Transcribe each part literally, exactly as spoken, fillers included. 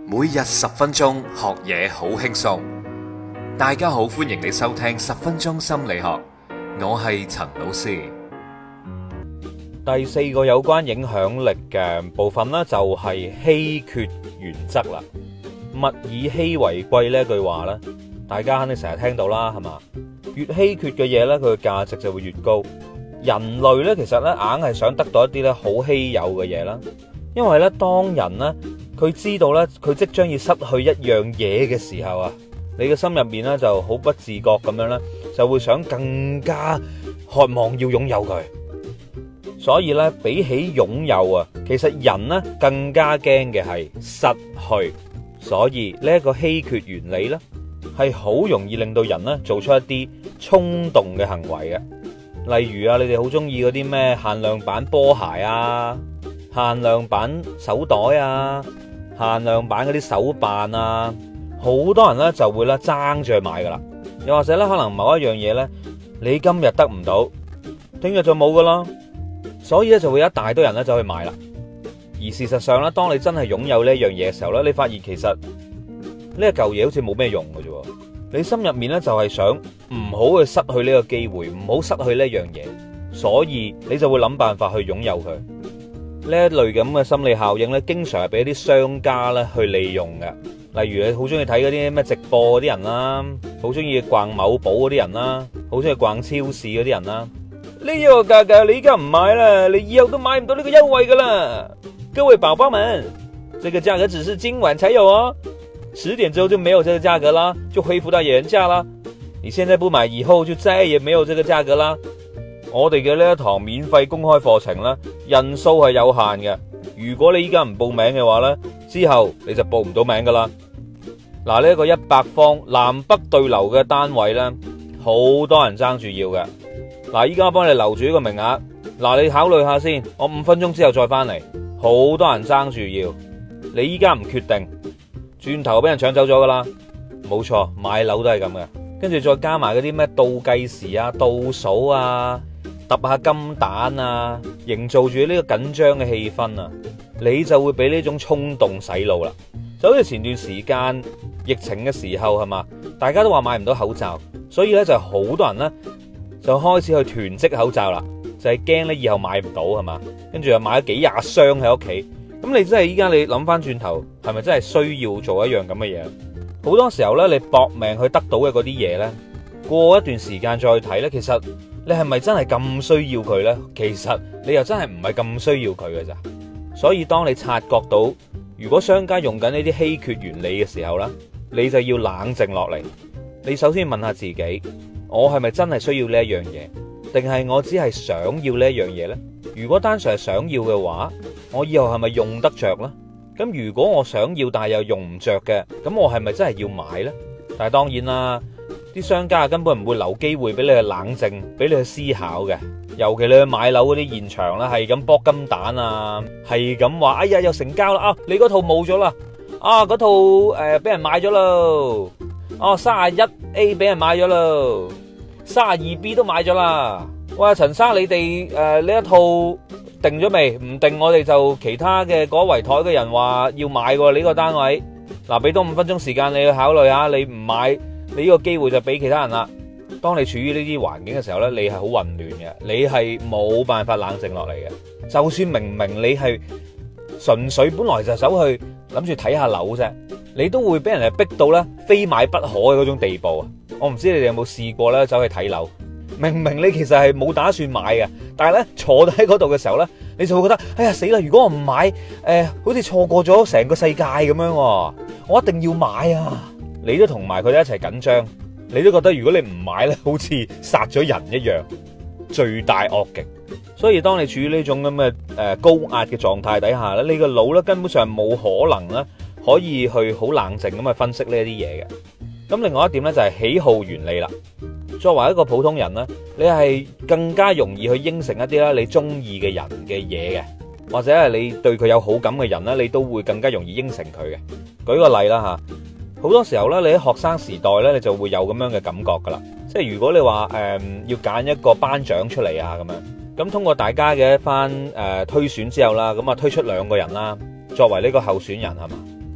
每日十分鐘學嘢好輕鬆。大家好，歡迎你收聽十分鐘心理學，我係陳老師。 第四個有關影響力嘅部分呢，就係稀缺原則啦。物以稀為貴呢句話呢，大家肯定成日聽到啦，係嘛？越稀缺嘅嘢呢，佢嘅價值就會越高。人類呢，其實呢，硬係想得到一啲呢好稀有嘅嘢啦，因為呢，當人呢，佢知道呢，佢即將要失去一樣嘢嘅時候啊，你嘅心入面呢，就好不自覺咁樣呢，就會想更加渴望要擁有佢。所以咧，比起擁有啊，其實人呢更加驚嘅係失去。所以呢一個稀缺原理呢，係好容易令到人呢做出一啲衝動嘅行為嘅。例如啊，你哋好中意嗰啲咩限量版波鞋啊、限量版手袋啊、限量版嗰啲手辦啊，好多人呢就會咧爭住去買噶啦。又或者咧，可能某一樣嘢呢，你今日得唔到，聽日就冇噶啦。所以咧就會有一大堆人咧走去買啦，而事實上咧，當你真係擁有呢一樣嘢嘅時候咧，你發現其實呢一嚿嘢好似冇咩用嘅啫。你心入面咧就係想唔好去失去呢個機會，唔好失去呢一樣嘢，所以你就會諗辦法去擁有佢。呢一類咁嘅心理效應咧，經常係俾啲商家咧去利用嘅。例如你好中意睇嗰啲咩直播嗰啲人啦，好中意逛某寶嗰啲人啦，好中意逛超市嗰啲人啦。呢個價格你而家唔買啦，你以後都買唔到呢個優惠噶啦。各位寶寶們，這個價格只是今晚才有哦，十點之後就沒有這個價格啦，就恢復到原價啦。你現在不買，以後就再也沒有這個價格啦。我哋嘅呢一堂免費公開課程呢，人數係有限嘅。如果你依家唔報名嘅話呢，之後你就報唔到名噶啦。嗱，呢一個一百方南北對流嘅單位呢，好多人爭住要嘅。嗱，依家幫你留住呢個名額。嗱，你考慮下先，我五分鐘之後再翻嚟。好多人爭住要，你依家唔決定，轉頭俾人搶走咗噶啦。冇錯，買樓都係咁嘅。跟住再加埋嗰啲咩倒計時啊、倒數啊、揼下金蛋啊，營造住呢個緊張嘅氣氛啊，你就會俾呢種衝動洗腦啦。就好似前段時間疫情嘅時候係嘛，大家都話買唔到口罩，所以咧就好多人咧就開始去囤積口罩啦，就係驚咧以後買唔到係嘛，跟住又買咗幾廿箱喺屋企。咁你真係依家你諗翻轉頭，係咪真係需要做一樣咁嘅嘢？好多時候咧，你搏命去得到嘅嗰啲嘢咧，過一段時間再睇咧，其實你係咪真係咁需要佢咧？其實你又真係唔係咁需要佢嘅咋。所以當你察覺到，如果商家用緊呢啲稀缺原理嘅時候咧，你就要冷靜落嚟。你首先問下自己，我係咪真係需要呢一樣嘢，定係我只係想要呢一樣嘢呢？如果單純係想要嘅話，我以後係咪用得着呢？咁如果我想要但係又用唔着嘅，咁我係咪真係要買呢？但係當然啦，啲商家根本唔會留機會俾你去冷靜，俾你去思考嘅。尤其你去買樓嗰啲現場啦，係咁剝金蛋啊，係咁話，哎呀又成交啦啊！你嗰套冇咗啦，啊嗰套誒俾人買咗咯，哦三十一 A 俾人買咗咯，三十二 B 都買咗啦。喂，陳生你哋誒呢一套定咗未？唔定我哋就其他嘅嗰圍台嘅人話要買喎，你呢個單位。嗱，俾多五分鐘時間你去考慮下，你唔買，你呢個機會就俾其他人啦。當你處於呢啲環境嘅時候呢，你係好混亂嘅，你係冇辦法冷靜落嚟嘅。就算明明你係純粹本來就走去諗住睇下樓啫，你都會俾人哋逼到呢非買不可嘅嗰種地步啊！我唔知你哋有冇試過呢走去睇樓，明明你其實係冇打算買嘅，但係呢坐喺嗰度嘅時候呢，你就會覺得哎呀死啦！如果我唔買，誒、呃、好似錯過咗成個世界咁樣，我一定要買啊！你都同埋佢哋一齊緊張。你都覺得如果你唔買咧，好似殺咗人一樣，罪大惡極。所以當你處於呢種咁嘅誒高壓嘅狀態底下咧，你個腦咧根本上冇可能咧可以去好冷靜咁去分析呢一啲嘢嘅。咁另外一點咧就係喜好原理啦。作為一個普通人咧，你係更加容易去應承一啲咧你中意嘅人嘅嘢嘅，或者係你對佢有好感嘅人咧，你都會更加容易應承佢嘅。舉個例啦吓。好多時候咧，你喺學生時代咧，你就會有咁樣嘅感覺噶啦。即係如果你話誒、呃、要揀一個班長出嚟啊咁樣，咁通過大家嘅一番誒、呃、推選之後啦，咁啊推出兩個人啦，作為呢個候選人係嘛。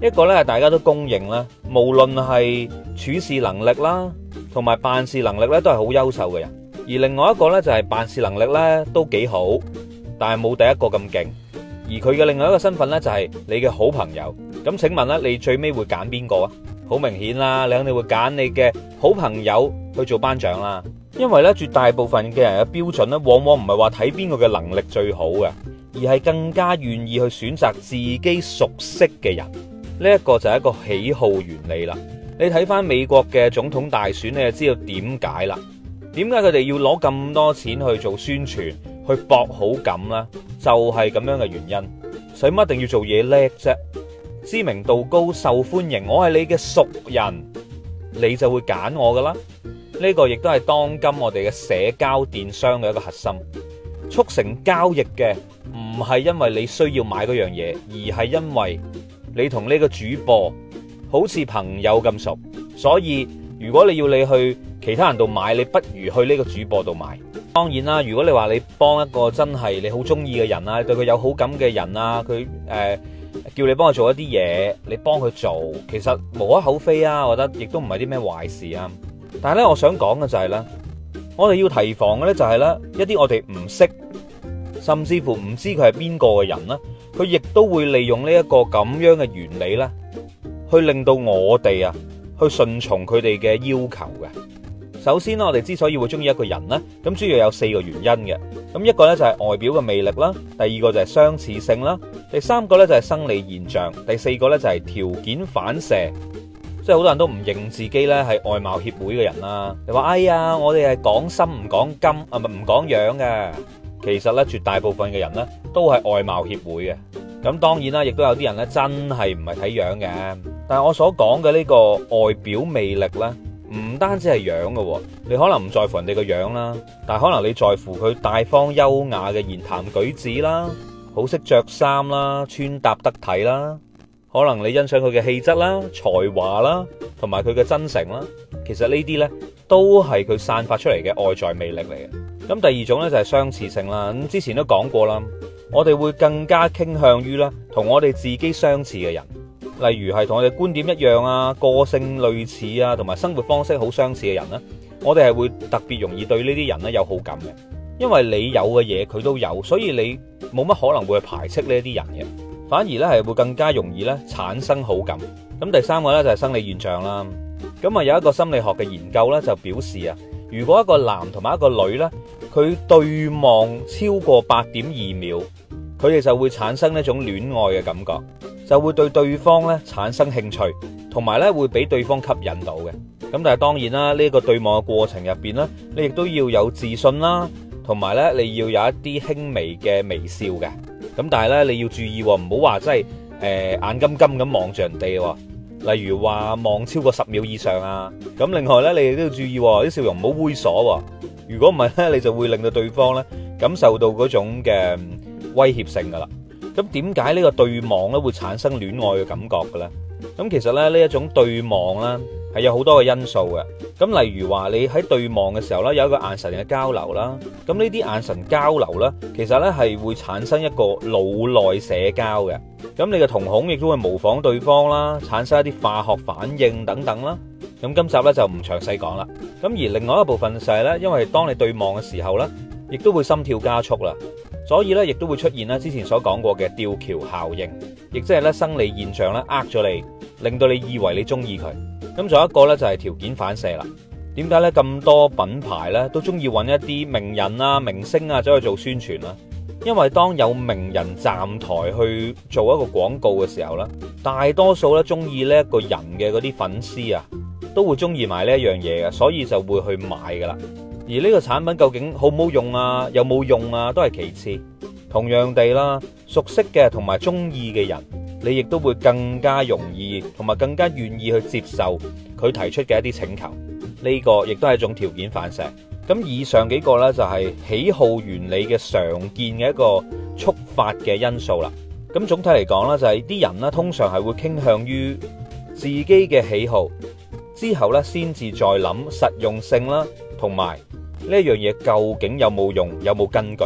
一個咧係大家都公認啦，無論係處事能力啦，同埋辦事能力咧都係好優秀嘅人。而另外一個咧就係辦事能力咧都幾好，但係冇第一個咁勁。而佢嘅另外一個身份咧就係你嘅好朋友。咁請問咧，你最尾會揀邊個啊？好明顯啦，你肯定會揀你嘅好朋友去做班長啦。因為咧絕大部分嘅人嘅標準咧，往往唔係話睇邊個嘅能力最好嘅，而係更加願意去選擇自己熟悉嘅人。呢一個就係一個喜好原理啦。你睇翻美國嘅總統大選，你就知道點解啦。點解佢哋要攞咁多錢去做宣傳，去博好感呢？就係咁樣嘅原因。使乜一定要做嘢叻啫？知名度高、受歡迎，我係你嘅熟人，你就會揀我噶啦。呢個亦都係當今我哋嘅社交電商嘅一個核心。促成交易嘅唔係因為你需要買嗰樣嘢，而係因為你同呢個主播好似朋友咁熟，所以如果你要你去其他人度買，你不如去呢個主播度買。當然啦，如果你話你幫一個真係你好中意嘅人啊，對佢有好感嘅人啊，佢誒、呃、叫你幫佢做一啲嘢，你幫佢做，其實無可厚非啊，我覺得亦都唔係啲咩壞事啊。但係咧，我想講嘅就係咧，我哋要提防嘅咧就係咧一啲我哋唔識，甚至乎唔知佢係邊個嘅人啦，佢亦都會利用呢一個咁樣嘅原理咧，去令到我哋啊去順從佢哋嘅要求嘅。首先咧，我哋之所以會中意一個人咧，咁主要有四個原因嘅。咁一個咧就係外表嘅魅力啦，第二個就係相似性啦，第三個咧就係生理現象，第四個咧就係條件反射。即係好多人都唔認自己咧係外貌協會嘅人啦，你話哎呀，我哋係講心唔講金啊，唔唔講樣嘅。其實咧，絕大部分嘅人咧都係外貌協會嘅。咁當然啦，亦都有啲人咧真係唔係睇樣嘅。但係我所講嘅呢個外表魅力咧，唔單止係樣嘅，你可能唔在乎人哋個樣啦，但係可能你在乎佢大方優雅嘅言談舉止啦，好識着衫啦，穿搭得體啦。可能你欣賞佢嘅氣質啦、才華啦，同埋佢嘅真誠啦。其實呢啲呢，都係佢散發出嚟嘅外在魅力嚟嘅。咁第二種呢，就係相似性啦。咁之前都講過啦，我哋會更加傾向於啦同我哋自己相似嘅人，例如係同我哋觀點一樣啊、個性類似啊，同埋生活方式好相似嘅人呢，我哋係會特別容易對呢啲人呢有好感嘅，因為你有嘅嘢佢都有，所以你冇乜可能會去排斥呢啲人嘅。反而咧係會更加容易咧產生好感。咁第三個咧就係生理現象啦。咁啊有一個心理學嘅研究咧就表示啊，如果一個男同埋一個女咧，佢對望超過八點二秒，佢哋就會產生一種戀愛嘅感覺，就會對對方咧產生興趣，同埋咧會俾對方吸引到嘅。咁但係當然啦，呢個對望嘅過程入邊咧，你亦都要有自信啦，同埋咧你要有一啲輕微嘅微笑嘅。咁但係咧，你要注意，唔好話真係誒眼金金咁望住人哋，例如話望超過十秒以上啊。咁另外咧，你亦都要注意啲笑容唔好猥瑣。如果唔係咧，你就會令到對方咧感受到嗰種嘅威脅性噶啦。咁點解呢個對望咧會產生戀愛嘅感覺嘅咧？咁其實咧呢一種對望咧係有好多嘅因素嘅。咁例如話你喺對望嘅時候咧，有一個眼神嘅交流啦。咁呢啲眼神交流咧，其實咧係會產生一個腦內社交嘅。咁你嘅瞳孔亦都會模仿對方啦，產生一啲化學反應等等啦。咁今集咧就唔詳細講啦。咁而另外一部分就係咧，因為當你對望嘅時候咧，亦都會心跳加速啦，所以咧亦都會出現咧之前所講過嘅吊橋效應，亦即係咧生理現象咧呃咗你，令到你以為你中意佢。咁仲有一個咧就係條件反射啦。點解咧咁多品牌咧都中意揾一啲名人啊、明星啊走去做宣傳啦？因為當有名人站台去做一個廣告嘅時候咧，大多數咧中意呢一個人嘅嗰啲粉絲啊，都會中意埋呢一樣嘢嘅，所以就會去買噶啦。而呢個產品究竟好唔好用啊，有冇用啊，都係其次。同樣地啦，熟悉嘅同埋中意嘅人，你亦都會更加容易同埋更加願意去接受佢提出嘅一啲請求。呢個亦都係一種條件反射。咁以上幾個呢，就係喜好原理嘅常見嘅一個觸發嘅因素啦。咁總體嚟講呢，就係啲人呢，通常係會傾向於自己嘅喜好，之後呢先至再諗實用性啦，同埋呢一樣嘢究竟有冇用，有冇根據。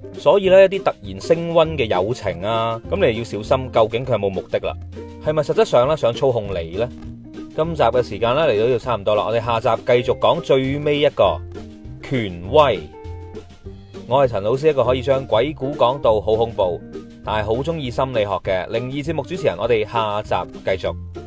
所以咧，一啲突然升溫嘅友情啊，咁你要小心，究竟佢有冇目的啦？係咪實質上咧想操控你呢？今集嘅時間咧嚟到呢度差唔多啦，我哋下集繼續講最尾一個權威。我係陳老師，一個可以將鬼故講到好恐怖，但係好中意心理學嘅靈異節目主持人。我哋下集繼續。